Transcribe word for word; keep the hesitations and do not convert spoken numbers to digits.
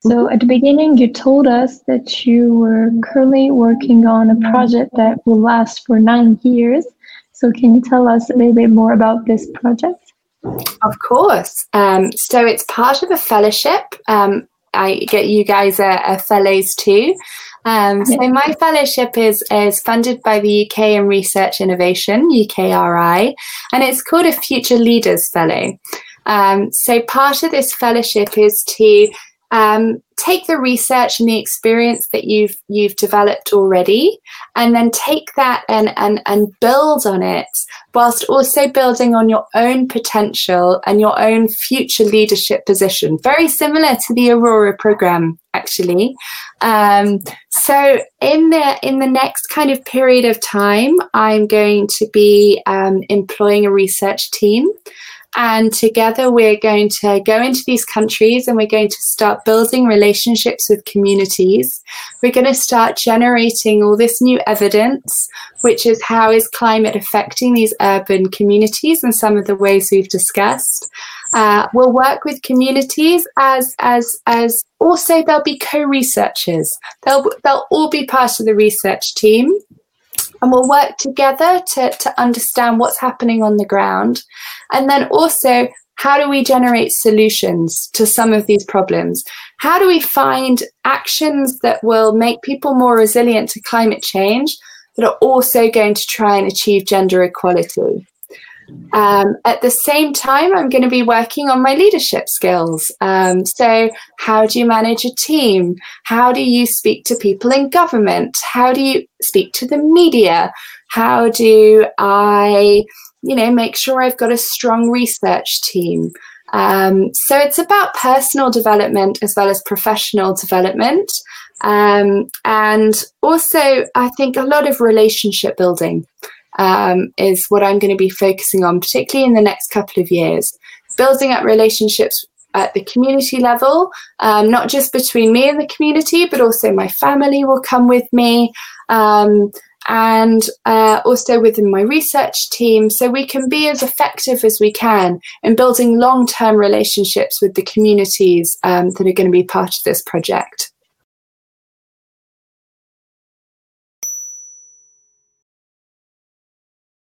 So at the beginning, you told us that you were currently working on a project that will last for nine years. So can you tell us a little bit more about this project? Of course. Um, so it's part of a fellowship. Um, I get you guys are, are fellows too. Um, so Yeah. my fellowship is is funded by the U K and Research Innovation, U K R I, and it's called a Future Leaders Fellow. Um, so part of this fellowship is to um, take the research and the experience that you've you've developed already, and then take that and and and build on it, whilst also building on your own potential and your own future leadership position. Very similar to the Aurora program, actually. Um, so in the in the next kind of period of time, I'm going to be um, employing a research team. And together we're going to go into these countries and we're going to start building relationships with communities. We're going to start generating all this new evidence, which is how is climate affecting these urban communities and some of the ways we've discussed. Uh, we'll work with communities as as as also there'll be co-researchers. They'll they'll all be part of the research team. And we'll work together to, to understand what's happening on the ground. And then also, how do we generate solutions to some of these problems? How do we find actions that will make people more resilient to climate change that are also going to try and achieve gender equality? Um, at the same time, I'm going to be working on my leadership skills. Um, so how do you manage a team? How do you speak to people in government? How do you speak to the media? How do I, you know, make sure I've got a strong research team? Um, so it's about personal development as well as professional development. Um, and also, I think a lot of relationship building. Um, is what I'm going to be focusing on, particularly in the next couple of years. Building up relationships at the community level, um, not just between me and the community, but also my family will come with me, um, and uh, also within my research team, so we can be as effective as we can in building long-term relationships with the communities um, that are going to be part of this project.